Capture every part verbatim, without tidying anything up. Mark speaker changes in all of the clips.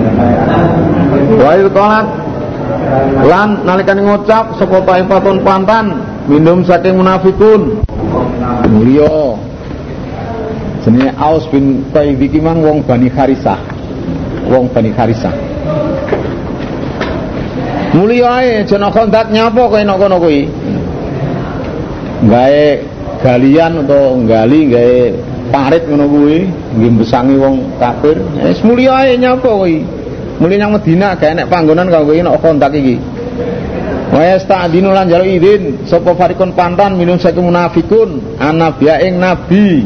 Speaker 1: Wa ilqalat lan nalikane ngucap sapa taifatun pantan minum saking munafikun mulya jenenge Aus bin Taib iki mang wong Bani Harisah wong Bani Harisah mulya ae jana kondak nyapa kowe nek kono kuwi gawe galian utawa nggali gawe parit ngono kuwi nggih besangi wong kafir wis mulya ae nyapa kuwi mulih nang Madinah gawe nek panggonan kanggo nek kondak iki wa yasta'dinu lan jalu idin sapa farikun pantan minum saking munafikun annabiya ing nabi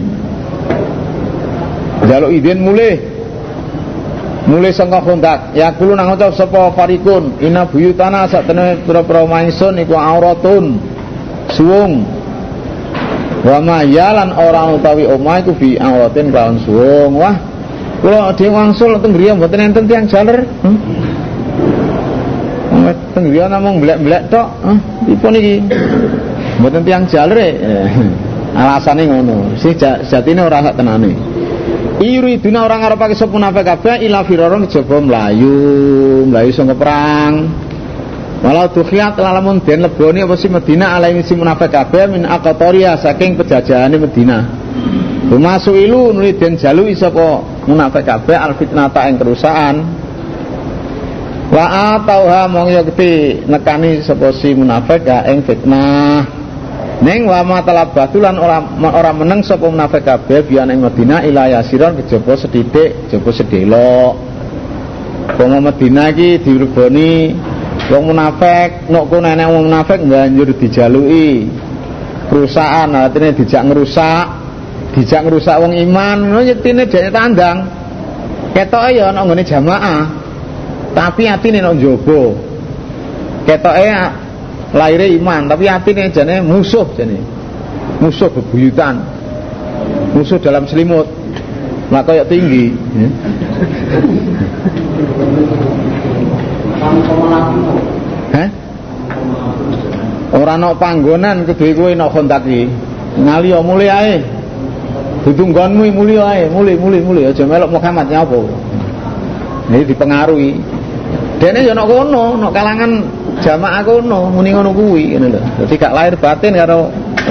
Speaker 1: jalu idin mulih mulih sangka kondak ya kulo nang ucap sapa farikun inna buyutana satene pira-pira mangsun iku auratun suwung wa ma yalan ora utawi omah iku bi auratin kawan suwung wah kula dhewe wangsul teng griya mboten enten tiyang jaler hmm? teng griya namung blek-blek tok huh? Dipun iki mboten tiyang jalere alasane ngono sing jatine ora sak tenane iriduna orang ngarepake sapa munafik kabeh ila firaron kejaba mlayu mlayu saka perang walau tukhiyat lamun den leboni apa si Madinah alai si munafik kabeh min aqtaria saking penjajahane Madinah masuk ilu nuli den jaluki sapa munafik kabeh al fitnata ing kerusakan wa atauha mong ya gede nekani sapa si munafik ka ing fitnah ning wa matalabatulan ora ora meneng sapa munafik kabeh biyen ing Madinah ila yasiron kejaba sedidik kejaba sedelok wong Madinah iki diregoni wong munafik nek kono enek wong munafik banjur dijaluki perusahaan artine dijak ngerusak dijak ngerusak wong iman ngono yetine dene tandang ketoke ya ana nggone jamaah tapi atine nek njaba ketoke lahire iman tapi atine jane musuh jane musuh bebuyutan musuh dalam selimut lah kaya tinggi heh ora ana panggonan kudu kowe nek kontak iki ngali yo mulih ae dudu nggonmu mulih ae mulih mulih mulih aja melok Muhammad nyapa iki dipengaruhi dene yo nek kono nek kalangan jamaah kono muni ngono kuwi ngene lho dadi gak lahir batin karo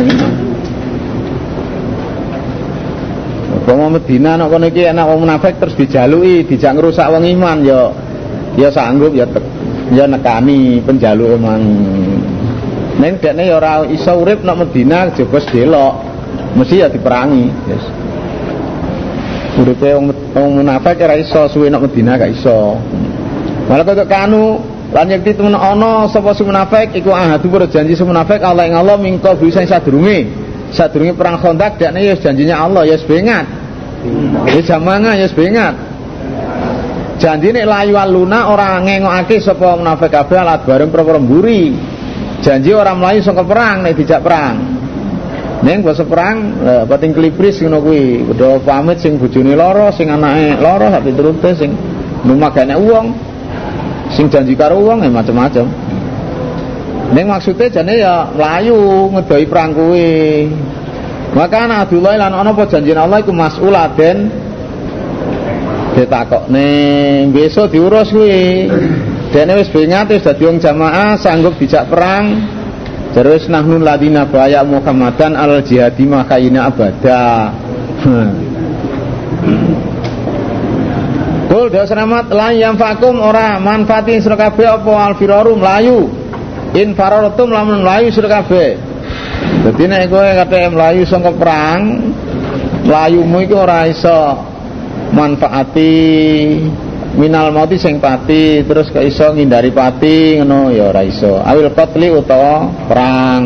Speaker 1: wong Madinah nek kono iki enak wong munafik terus dijaluki dijak ngrusak wong iman yo ya sanggup ya tek ya nekani penjaluk emang ning dekne ya ora iso urip nek Madinah jebos delok mesti ya diperangi yes. Uripe wong munafik ora iso suwe nek Madinah gak iso malah kok kanu lan yen ditemen ana sapa si munafik iku ahadu berjanji si munafik Allah ing Allah mingko bisa sadurunge sadurunge perang Khandaq dekne ya janjinya Allah ya bengat ya jamanga ya bengat janjine layu aluna ora ngengokake sapa munafik kabeh alat bareng perkara mburi janji ora mlayu saka perang nek dijak perang ning basa perang lha pating klipris ngono kuwi padha pamit sing bojone lara sing anake lara sak piturute sing lumagane wong sing janji karo wong ya macam-macam ning maksude jane ya mlayu ngedoi perang kuwi maka ana Abdullah lan ana apa janjine Allah iku mas'uladen ditakokne besok diurus kuwi dene wis bengat wis dadi wong jamaah sanggup dijak perang terus nahnul ladina baya Muhammadan al jihadi makaina abada kul dawa selamat lan yang fakum ora manfaatin sira kabeh apa al firaru mlayu in fararatum lamun mlayu sira kabeh dadi nek kowe kate mlayu saka perang mlayumu iki ora iso manfaati minal mauti sing pati terus gak iso ngindari pati ngono ya ora iso awil qatli utawa perang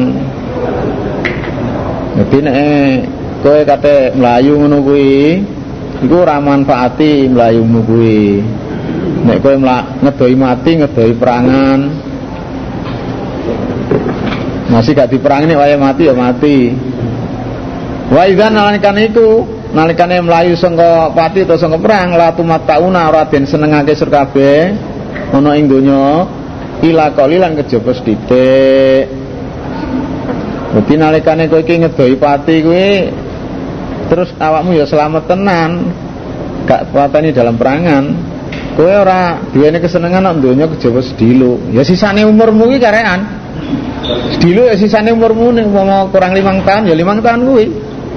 Speaker 1: dadi nek kowe kate mlayu ngono kuwi iku ora manfaati mlayumu kuwi nek kowe ngedoi mati ngedoi perangan masih gak diperangi nek wayahe mati ya mati wa idzan nalikan iku nalikane mlayu saka pati utawa saka perang la tumattauna ora den senengake sira kabeh ana ing donya ila qalilan kejaba sithik. Dadi nalikane kowe iki ngedoi pati kuwi terus awakmu ya selamat tenan gak pateni dalam perangan Kowe ora duwene kesenengan nang donya kejaba sedilo. Ya sisane umurmu iki karekan. Sedilo ya sisane umurmu ning umpama kurang limang tahun ya limang tahun kuwi.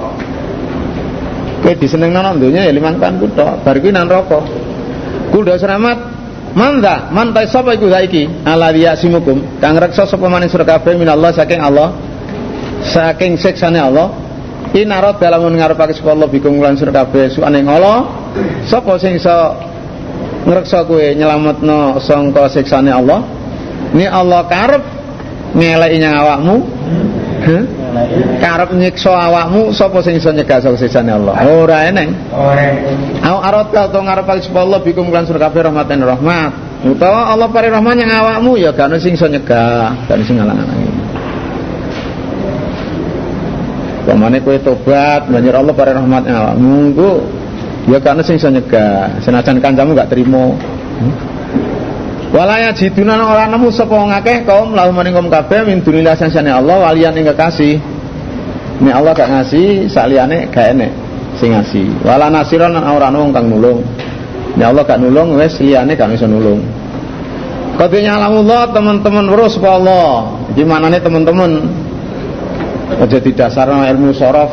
Speaker 1: Kowe disenengno nang donya ya limang tahun ku tok. Bar kuwi nang neraka. Kul dasramat manda mantai sapa iku saiki ala yasimukum kang reksa sapa maning sira kabeh minallah saking Allah saking siksane Allah inarad dalam ngarepake sapa Allah bikum lan sira kabeh suane ngala sapa sing iso ngreksa kowe nyelametno sangka siksane Allah ni Allah karep ngeleki nyang awakmu huh? Karep nyiksa awakmu sapa sing iso nyegah saka siksane Allah ora eneng ora au arad ka to ngarepake sapa Allah bikum lan sira kabeh rahmatan rahmat utawa Allah pare rahmat nyang awakmu ya gak ono sing iso nyegah gak ono sing ngalang-alangi pamane kowe tobat banjur Allah pare rahmat nyang awakmu ku ya karena sing iso nyegah senajan kancamu gak terima hmm? walaya jiduna ora nemu sapa wong akeh kaum lahu maring kaum kabeh min dunillah sansane Allah waliyan ing kekasih nek Allah gak ngasih saliyane gak enek sing ngasih wala nasiran ora ana wong kang nulung nek Allah gak nulung wis liyane gak iso nulung kadene alamullah teman-teman weruh sapa Allah iki manane teman-teman aja didasarno ilmu sorof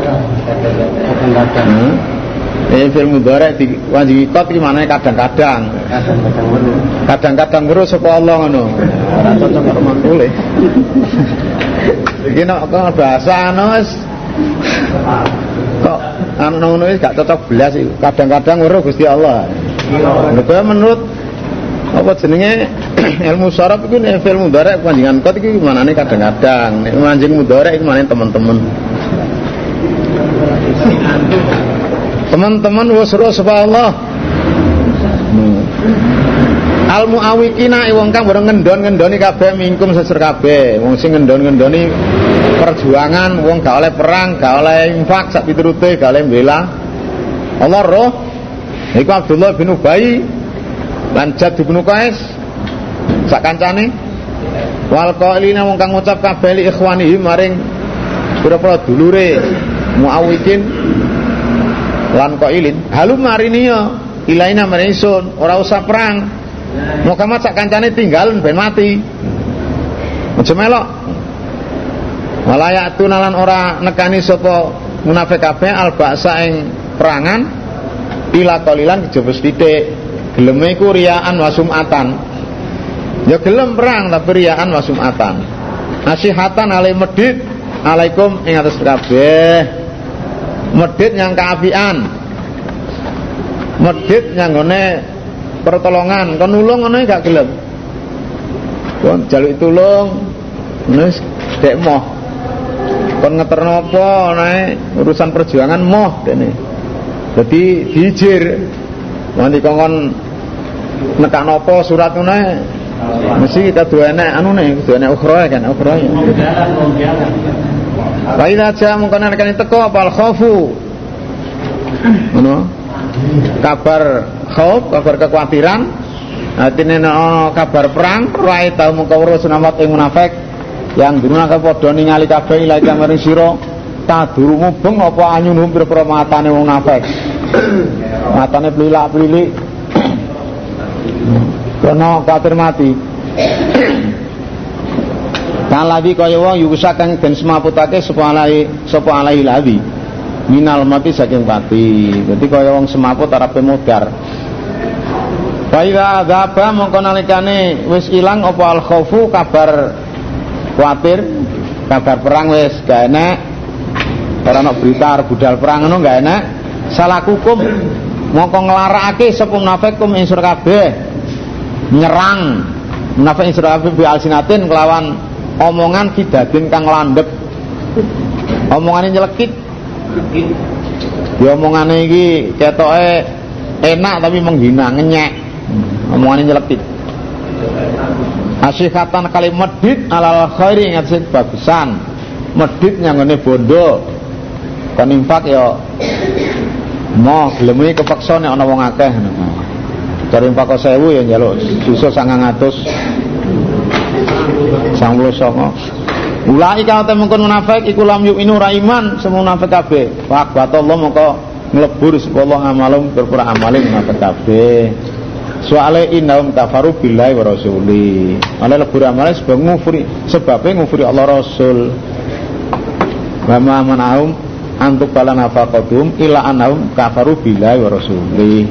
Speaker 1: hmm? Eh film mudhari di wajibikot iki manane kadang-kadang. Kadang-kadang weruh sapa Allah ngono. Ora cocok karo mangkule. Iki nek bahasa anu wis kok anu ngono wis gak cocok belas iki. Kadang-kadang weruh Gusti Allah. Lha menurut apa jenenge ilmu saraf iku nek film mudhari panjenengan kot iki manane kadang-kadang. Nek manjing mudhari iki manane teman-teman. Teman-teman wasra sapa Allah. Hmm. Al muawikina wong kang bareng ngendon-ngendoni kabeh mingkum sesir kabeh. Wong sing ngendon-ngendoni perjuangan, wong gak oleh perang, gak oleh infak sak piturute, gak oleh bela. Allah roh. Iku Abdullah bin Ubay lan Jad bin Qais sak kancane. Wal qailina wong kang ngucap kabeh li ikhwanihi maring pira-pira dulure muawikin lan qailin halum mariniya ilaina marisun ora usah perang Muhammad sak kancane tinggal ben mati aja melok walayatun lan ora nekani sapa munafik kabeh alba'sa ing perangan ila qalilan kejaba sithik geleme iku riyaan wasumatan ya gelem perang tapi riyaan wasumatan nasihatan alai medit alaikum ing atas kabeh medit yang keapian medit yang ngene pertolongan kon nulung ngono gak gelem kon jaluk tulung wis dek moh kon ngeterno apa nae urusan perjuangan moh dene dadi dijir nanti kon nekan apa surat ngene mesti kita duwe enek anune duwe enek ukhra kan ukhra Baiklah aja mungkin akan teko apa al-khawfu ngono kabar khauf kabar kekhawatiran atine no kabar perang rae tau mengko weruh sunawat ing munafik yang durunake padha ningali kabeh ilahi kamaring sira taduru mubeng apa anyunum pira-pira matane wong munafik matane plilak-plilik karena kafir mati kalabi kaya wong yusa kang den semaputake sapa alai sapa alai lawi minal mati saking pati dadi kaya wong semaput arepe modar wa idza dzaba mongko nalikane wis ilang apa al khaufu kabar kuwatir kabar perang wis gak enak ora ana berita budal perang ngono gak enak salah hukum mongko nglarakake sapa munafikum ing sira kabeh nyerang munafik ing sira kabeh bi alsinatin kelawan omongan kidadin kang landhep omongane nyelekit ya omongane iki ketoke enak tapi menghina ngenyek omongane nyelekit asyihatan kali medit alal khairi ngatsit bagusan medit nyangone bondo kon infak ya mo gelem kepeksa nek ana wong akeh cari infak sewu ya njaluk susu sangang atus sanglo songo ulai kana temengkon munafik iku lam yu'minu ra iman semua munafik kabeh faq batallah mongko nglebur sapa Allah amalum berpura amale munafik kabeh soale innahum kafaru billahi wa rasuli. Ana lebur amale sebab ngufuri, sebabe ngufuri Allah Rasul. Wa ma manahum antuk bala nafaqatum illa annahum kafaru billahi wa rasuli.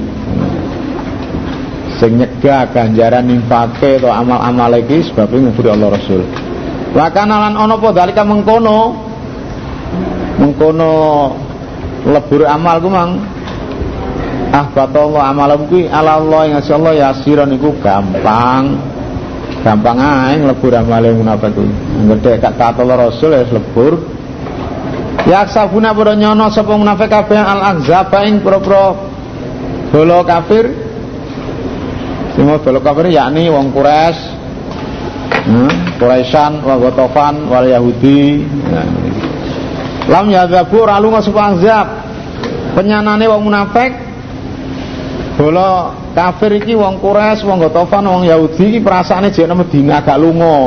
Speaker 1: Sing nyegah ganjaran infake atau amal-amal iki sebabe ngufuri Allah Rasul. Wa kana lan ana apa dalika mengkono mengkono lebur amal ku mang ah batallah amalam kuwi ala Allah yang Allah yasiron iku gampang gampang ae lebur amale munafik kuwi ngedek gak taat Allah Rasul ya lebur ya aksabuna padha nyono sapa munafik kabeh al ahzaba ing pro-pro bolo kafir sing bolo kafir yakni wong Quraisy hmm, Quraisyan wa Ghatafan wal Yahudi nah, lam yadzabu ra lunga sapa ahzab penyanane wong munafik bola kafir iki wong Quraisy, wong Ghatafan, wong Yahudi iki perasaane jek nang Madinah gak lunga.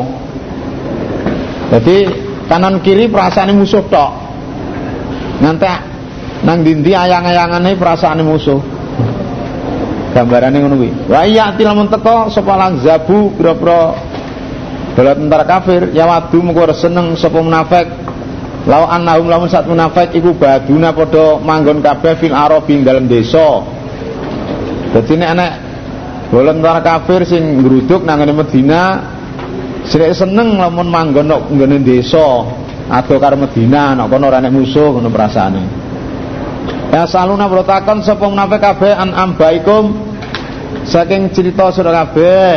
Speaker 1: Jadi kanan kiri perasaane musuh tok. Ngantek nang ndi-ndi ayang-ayangane perasaane musuh. Gambarane ngono kuwi. Wa iya tilamun teko sapa lan zabu pira-pira bala tentara kafir ya wadu mengko seneng sapa munafik. Lau annahum lamun sat munafik iku baduna padha manggon kabeh fil arabi dalem desa. Dadi nek anak bolen tentara kafir sing ngruduk nang ngene Medina srek seneng lamun manggon nang nggone desa ado karo Medina nek kono ora nek musuh ngono perasaane. Ya saluna brotakon sapa munafik kabeh an ambaikum saking cerita sira kabeh.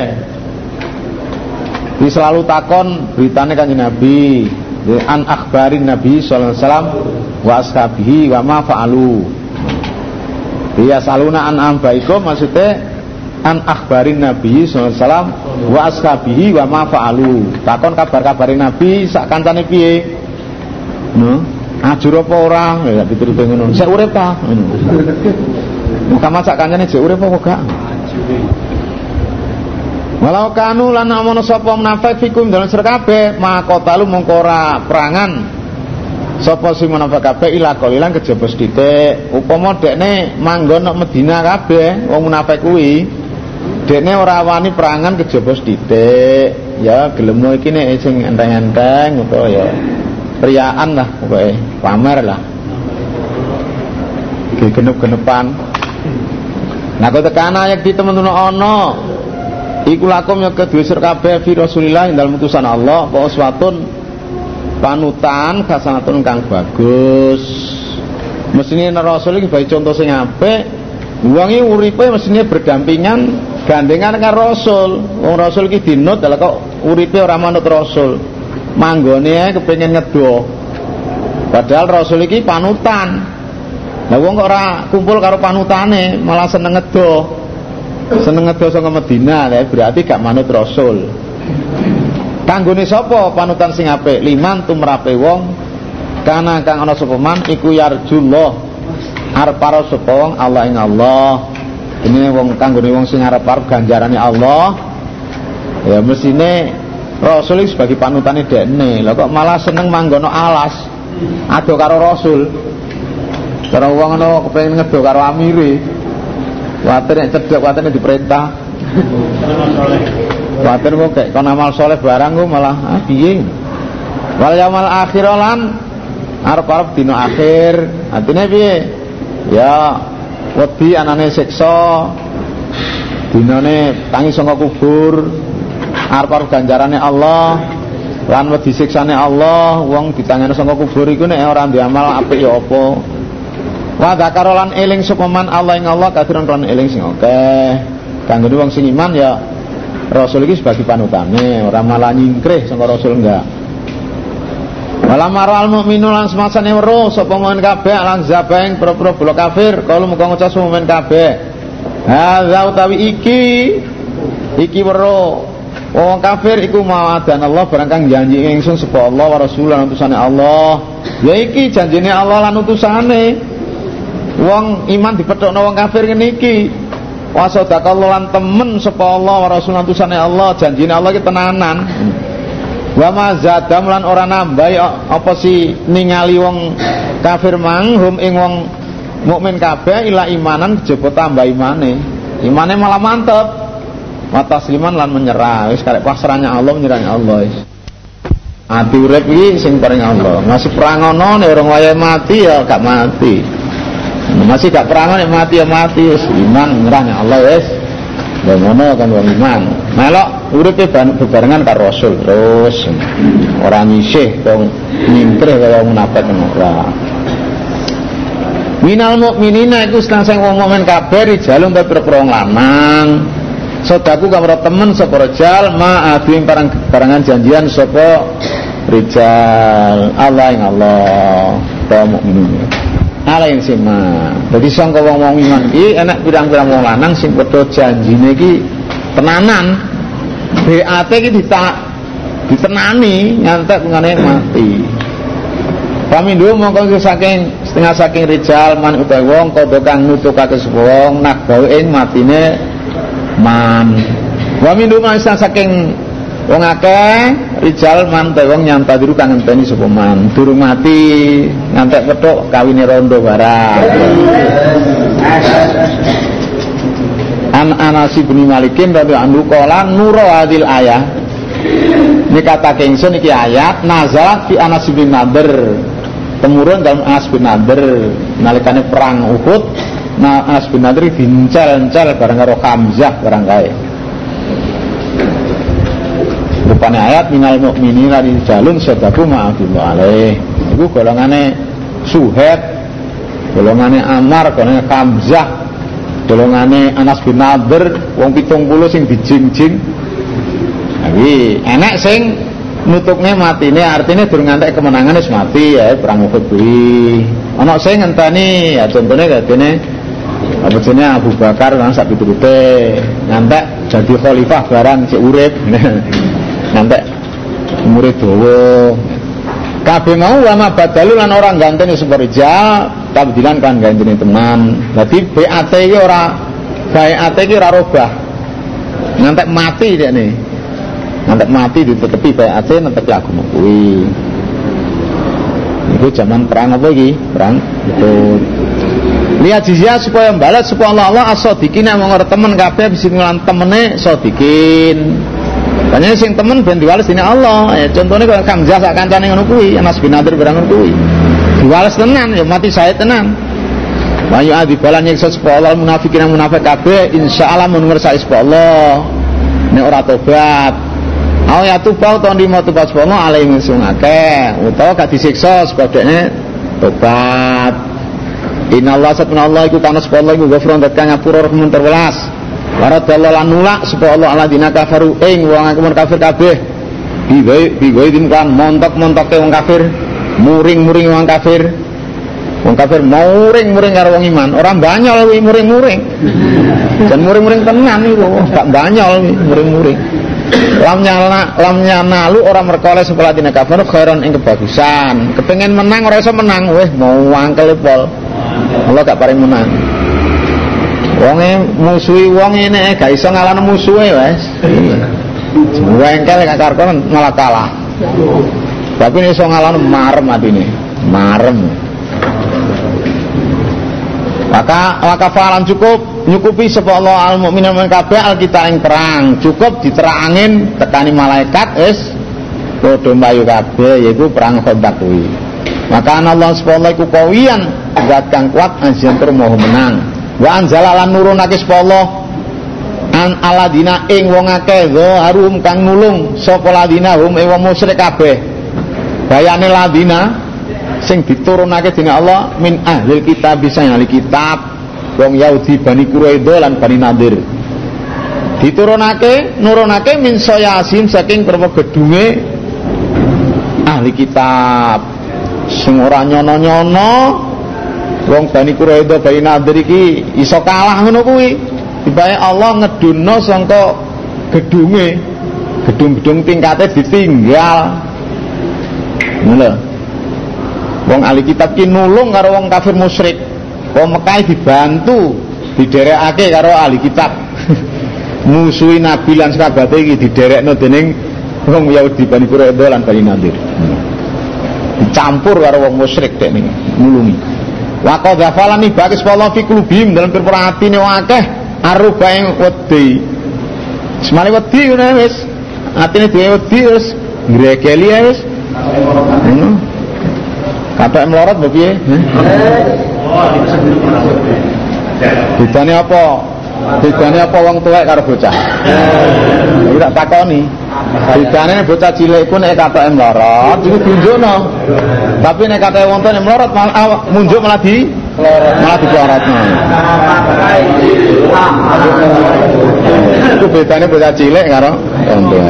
Speaker 1: Di selalu takon beritane Kanjeng Nabi an akhbarin Nabi sallallahu alaihi wasallam wa ashabihi wa ma fa'alu. Ya saluna an ambaikum maksudnya an akhbarin Nabi sallallahu alaihi wasallam wa ashabihi wa ma fa'alu. Takon kabar-kabarin Nabi sak kancane piye? No, ajur apa ora? Ya piturute ngono. Sik urip ta? Ngono. Mukamat sak kancane sik urip apa gak? Walau kanu lan amono sapa munafik fikum dalem sira kabeh maka talu mongko ora perangan sapa sing munafik kabeh ila qalilan kejaba sithik upama dekne manggon nang Madinah kabeh wong munafik kuwi dekne ora wani perangan kejaba sithik ya gelem iki nek sing enteng-enteng utawa ya riyaan lah pokoke pamer lah iki genep-genepan nah kok tekana yak di temen-temen ana iku lakum ya kedua sir kabeh fi Rasulillah dalam utusan Allah apa uswatun panutan hasanatun kang bagus. Mesine Rasul iki bae contoh sing apik. Wong iki uripe mesine berdampingan gandengan karo Rasul. Wong Rasul iki dinut lha kok uripe ora manut Rasul. Manggone ae kepengin ngedo. Padahal Rasul iki panutan. Lah wong kok ora kumpul karo panutane, malah seneng ngedo. Seneng ngedo saka Madinah ya berarti gak manut Rasul. Kanggone sapa panutan sing apik? Liman tumrape wong kana kang ana sapa man iku yarjullah arep para sapa wong Allah ing Allah. Ini wong kanggone wong sing arep-arep ganjarane Allah. Ya mesine Rasul iki sebagai panutane dekne. Lah kok malah seneng manggono alas ado karo Rasul. Cara wong ana kepengin ngedo karo amire. Kuatir nek cedhek kuatir nek diperintah. Kuatir kok kayak kon amal soleh barang kok malah ah piye. Wal yaumil akhir lan arep-arep dina akhir. Artine piye? Ya wedi anane siksa. Dinane tangi saka kubur. Arep-arep ganjarane Allah. Lan wedi siksane Allah, wong ditangani saka kubur iku nek ora ndek amal apik ya apa? Wa dzakarolan eling sapa man Allah ing Allah kathiran kan eling sing akeh. Kanggo wong sing iman ya Rasul iki sebagai panutane, ora malah nyingkrih saka Rasul enggak. Wala maral mukminu lan semasane weruh sapa mukmin kabeh lan zabaing pro-pro bolo kafir, kalau muga ngucap mukmin kabeh. Hadza utawi iki iki weruh wong kafir iku mawadan Allah barang kang janji ingsun sapa Allah wa Rasul lan utusane Allah. Ya iki janjine Allah lan utusane. Wong iman dipethukno wong kafir ngene iki. Wa sadaqallahu lan temen sapa Allah wa Rasul utusane Allah, janjine Allah iki tenanan. Wa ma zadam lan ora nambah apa si ningali wong kafir mang hum ing wong mukmin kabeh ila imanan kejaba tambah imane. Imane malah mantep. wa tasliman lan menyerah. Wis karek pasrahnya Allah, menyerahnya Allah wis. Ati urip iki sing paring Allah. Masih perang ono nek orang wayahe mati ya gak mati. Masih gak perang nek mati ya mati wis iman menyerahnya Allah wis. Lah ngono kan wong iman. Melok uripe bebarengan karo Rasul terus ora nyisih wong nyingkrih kaya munafik ora. Minal mukminina iku sing wong mukmin kabeh rijalun pira-pira wong lanang. Sodaku kamera temen sapa rijal ma'adhim parang barangan janjian sapa rijal Allah ing Allah kaum mukminin. Ala yang sima. Dadi sangka wong-wong iman iki enak pirang-pirang wong lanang sing padha janjine iki tenanan. B A T iki ditak ditenani ngantek ngene mati. Pamindu mongko saking setengah saking rijal man utawa wong padha kang nutukake sapa wong nak gawe ing matine man. Wa mindu masa saking wong akeh rijal man ta wong nyantadiru kang ngenteni sapa man durung mati ngantek petuk kawine rondo barang. An Anas bin Malikin radhiyallahu anhu qala nuru hadil ayah. Ini kata kengsun iki ayat nazalat fi Anas bin Nadir. Temurun dalam Anas bin Nadir nalikane perang Uhud. Nah Anas bin Nadir dincel-encel bareng karo Hamzah barang kae. Rupane ayat minal mukminina rijalun sadaqu ma'afillah alaih. Iku golongane Suhaib, golongane Ammar, golongane Hamzah, golongane Anas bin Nadir wong pitung puluh sing dijing-jing. Iki enek sing nutukne matine artine durung ngantek kemenangan wis mati ya perang Uhud kuwi. Ana sing ngenteni ya contone kadene apa jenenge Abu Bakar lan sak piturute ngantek jadi khalifah barang sik urip. Ngantek umure dawa. Kabeh mau lama badalu lan ora ganteni sapa rijal tabdilan kan ganteni teman. Dadi B A T iki ora B A T iki ora robah. Ngantek mati dekne. Ngantek mati ditetepi B A T netepi agama kuwi. Iku zaman perang apa iki? Perang Uhud. Lihat jizya supaya balas supaya Allah Allah as-sadiqin mong ora temen kabeh bisa ngulang temene sadiqin. Banyak sing temen ben diwales dene Allah. Ya contone kaya Hamzah sak kancane ngono kuwi, Anas bin Nadir barang ngono kuwi. Diwales tenan ya mati syahid tenan. Wa yu'adzibalan nyiksa sapa Allah munafikin munafik kabeh insyaallah mun ngersake sapa Allah. Nek ora tobat. Au ya tubau to ndimo tobat sapa Allah alaihi sing akeh utawa gak disiksa sebab dekne tobat. Innallaha subhanallahi iku kana sapa Allah iku ghafurun dat kang ngapura rahman terwelas. Waradallahu lan nulak sapa Allah alladzina kafaru ing wong akeh kafir kabeh. Biwai biwai dimkan montok-montoke wong kafir, muring-muring wong kafir. Wong kafir muring-muring karo wong iman, ora banyol kuwi muring-muring. Dan muring-muring tenan iku, gak banyol kuwi muring-muring. Lam nyala lam nyanalu ora merkole sapa alladzina kafaru khairan ing kebagusan. Kepengin menang ora iso menang, weh mau wangkel pol. Allah gak paring menang. Wonge musuhi wong ngene gak iso ngalahno musuhe wis. Wengkel gak karkon malah kalah. Tapi iso ngalahno marem atine. Marem. Maka wakafalan cukup nyukupi sapa Allah al mukminin men kabeh al kita ing perang. Cukup diterangin tekani malaikat wis padha mbayu kabeh yaiku perang Khandaq kuwi. Maka Allah subhanahu iku kawiyan zat kang kuat anjen tur moho menang. Wa anzala lan nurunake sapa Allah an aladina ing wong akeh harum kang nulung sapa ladina hum ing wong musyrik kabeh. Bayane ladina sing diturunake dening Allah min ahlil kitab bisa ahli kitab wong Yahudi Bani Quraidah lan Bani Nadir. Diturunake nurunake min sayasin saking perpo gedunge ahli kitab. Sing ora nyono-nyono wong Bani Quraidah Bani Nadir iki iso kalah ngono kuwi. Dibae Allah ngedunno sangka gedunge. Gedung-gedung tingkate ditinggal. Ngono. Wong ahli kitab ki nulung karo wong kafir musyrik. Wong Mekah dibantu diderekake karo ahli kitab. Musuhi Nabi lan sahabate iki diderekno dening wong Yahudi Bani Quraidah lan Bani Nadir. Dicampur karo wong musyrik dek niki nulungi. Wa qad ghafalani baqis wallahu fi qulubihim dalam perpara atine wong akeh aruba ing wedi. Semale wedi ngono wis. Atine dhewe wedi wis ngregeli wis. Ngono. Kathok melorot mbok piye? Bedane apa? Bedane apa wong tuwek karo bocah? Iki tak takoni. Bedane bocah cilik iku nek katoke melorot iku tunjukno. Tapi nek katoke wong tuwek melorot malah munjuk malah di malah diplorotno. Itu bedane bocah cilik karo wong tuwek.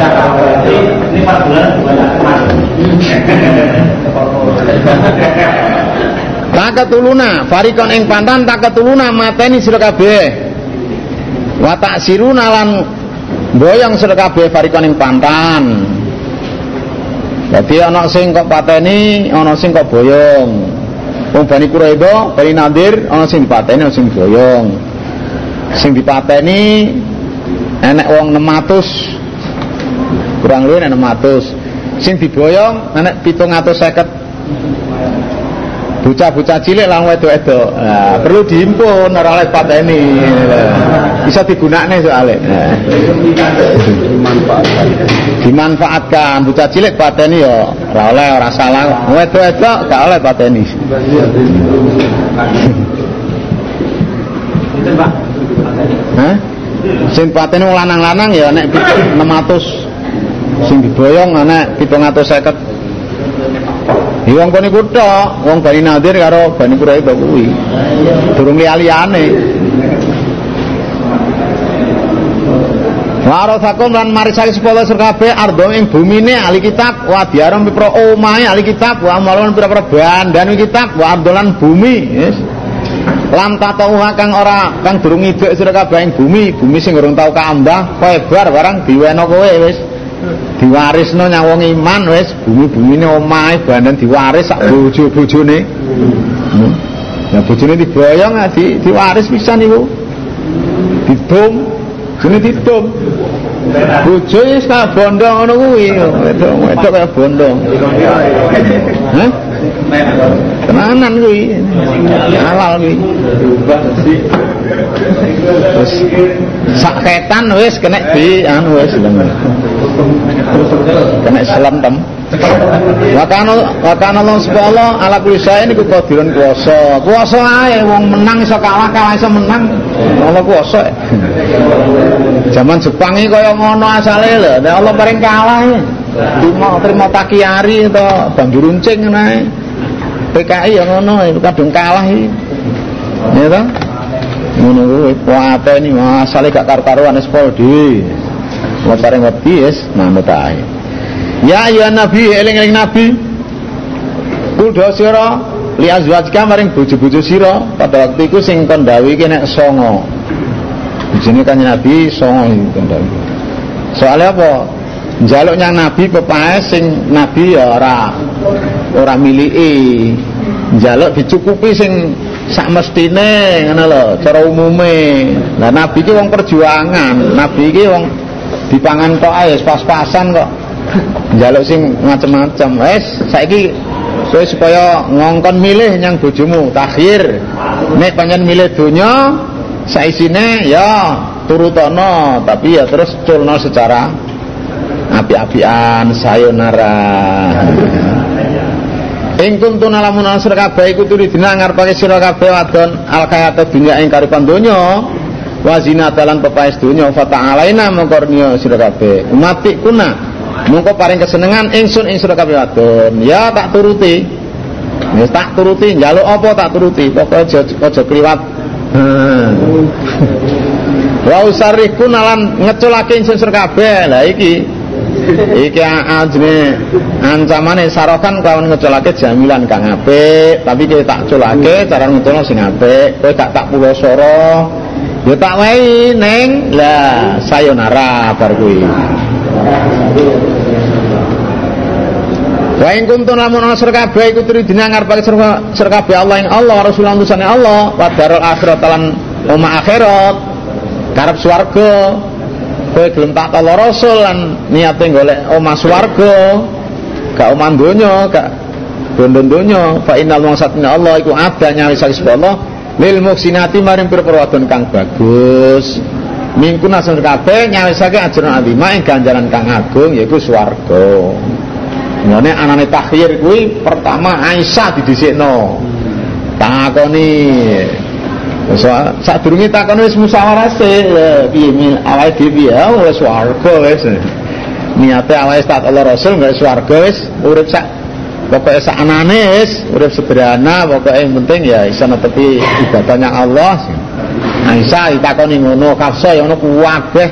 Speaker 1: Takatuluna farikon ing pantan takatuluna mateni sira kabeh. Wa taksiruna lan boyong sira kabeh farikon ing pantan. Dadi ana sing kok pateni, ana sing kok boyong. Wong Bani Quraidah, Bani Nadir ana sing dipateni, ana sing boyong. Sing dipateni enek wong enam ratus. Kurang luwih enam ratus. Sing diboyong enek pitung atus seket. Bocah-bocah cilik lan wedok-wedok. Nah, perlu dihimpun ora oleh pateni. Bisa digunakne soalé. Nah. Dimanfaatkan. Dimanfaatkan bocah cilik pateni ya ora oleh ora salah. Wedok-wedok gak oleh pateni. Hah? Sing pateni wong lanang-lanang ya nek enam ratus. Sing diboyong ana pitung atus seket. Wong kene kutha, wong Bani Nadir karo Bani Quraidah kuwi. Durung liyane. Warasakum lan marisake sepuluh sira kabeh ardo ing bumine ahli kitab wa diaram pira omahe ahli kitab wa malon pira-pira bandan kitab wa ardolan bumi, yes. Lam tatauha kang ora kang durung idek sira kabeh ing bumi, bumi sing urung tau kaambah, koebar barang diweno kowe wis. Diwarisno nyang wong iman wis bumi-bumine omahe bandan diwaris sak bojo-bojone. Hmm. Ya bojone diboyong di diwaris pisan niku. Didum, jene didum. Bojo wis kaya bondo ngono kuwi, wedok-wedok kaya bondo. Hah? Tenanan kuwi. Halal kuwi. Wis sak ketan wis kena di anu wis kena selentem. Wakana wakana Allah subhanahu ala kulli syai'in iku qadirun kuwasa. Kuwasa ae wong menang iso kalah, kalah iso menang. Allah kuwasa. Zaman Jepang iki kaya ngono asale lho. Nek Allah paring kalah terima terima takiari to banjur runcing ngene ae. P K I ya ngono kadung kalah iki. Ya ta? Ngono kuwi pateni asale gak karo-karoan wis pol dhewe. Wong paring wedi wis manut ae. Ya ya nabi eling-eling nabi. Kudu sira li azwajka maring bojo-bojo sira pada waktu iku sing kon dawuhi nek songo. Bojone kan nabi songo iki kon dawuhi. Soale apa? Njaluk nyang nabi pepae sing nabi ya ora ora miliki. Njaluk dicukupi sing sak mestine ngono lho cara umume. Lah nabi ki wong perjuangan, nabi ki wong dipangan tok ae pas-pasan kok. Njaluk sing macem-macem. Wis saiki kowe supaya ngongkon milih nyang bojomu takhir. Nek pancen milih donya saisine ya turutono, tapi ya terus culno secara api-apian sayonara. Ing kuntu lamun sira kabeh iku turidina ngarepake sira kabeh wadon alkayata dunya ing karipan donya wa zinatalan pepaes donya fa ta'alaina mongkornya sira kabeh umati kuna mongko paring kesenengan ingsun ing sira kabeh wadon ya tak turuti wis tak turuti njaluk apa tak turuti pokoke aja aja kliwat wa usarriku nalan ngeculake ingsun sira kabeh lah iki iki ajene ancamane sarokan kawan ngeculake jamilan kang apik tapi kowe tak culake cara ngeculno sing apik kowe gak tak pulosoro ya tak wae ning lah sayonara bar kuwi. Wa ing kuntum lamun ana sira kabeh iku tridina ngarepake sira kabeh Allah ing Allah Rasulullah utusane Allah wa darul akhirat lan omah akhirat karep swarga kowe gelem tak tolo rasul lan niate golek omah swarga gak omah donya gak bondo donya fa innal maksatna Allah iku ada nyawi sak Allah lil muhsinati maring pira-pira wadon kang bagus mingkuna sing kabeh nyawisake ajran azima ing ganjaran kang agung yaiku swarga. Ngene anane takhir kuwi pertama Aisyah didhisikno. Takoni so sadurunge takoni wis musyawarah sih piye awake dhewe ya wis swarga wis. Niate awake tak Allah Rasul gak swarga wis urip sak pokoke sak anane wis urip sederhana pokoke yang penting ya iso netepi ibadahnya Allah. Aisyah ditakoni ngono, Hafsah ya ngono kabeh.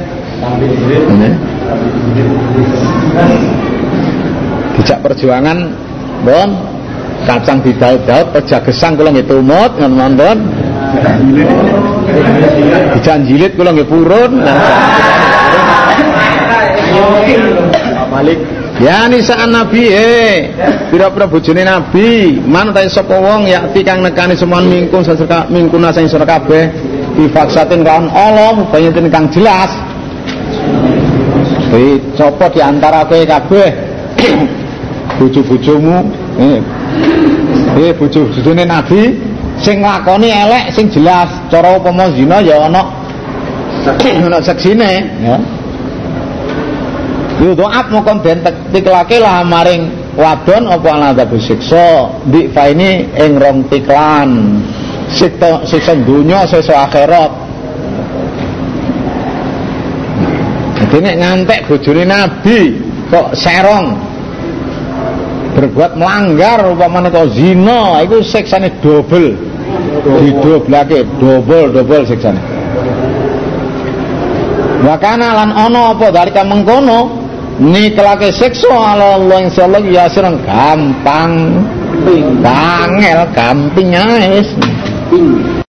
Speaker 1: Dijak perjuangan, bon, kacang didaud-daud, peja gesang kula nggih tumut ngono-ngono. Dijak jilid kula nggih purun. Malik ya nisaan Nabi eh pira-pira bojone Nabi man ta sapa wong yakti kang nekani semuan mingkun seseka mingkuna sing sira kabeh difaksatin kan Allah bayatin kang jelas kuwi sapa di antara kowe kabeh bojo-bojomu eh eh bojo-bojone Nabi sing nglakoni elek sing jelas cara upama zina ya ana ana seksine ya yo doa mongkon den tiklake lah maring wadon apa aladabu siksa di faini ing rong tiklan siksa siksa dunya siksa akhirat. Dadi nek ngantek bojone Nabi kok serong berbuat melanggar upamane kok zina iku siksane double didoblake double double siksane. Wa kana lan ana apa dalika mengkono nikelake siksa ala Allah insyaallah ya sirang gampang, bangel gamping ae.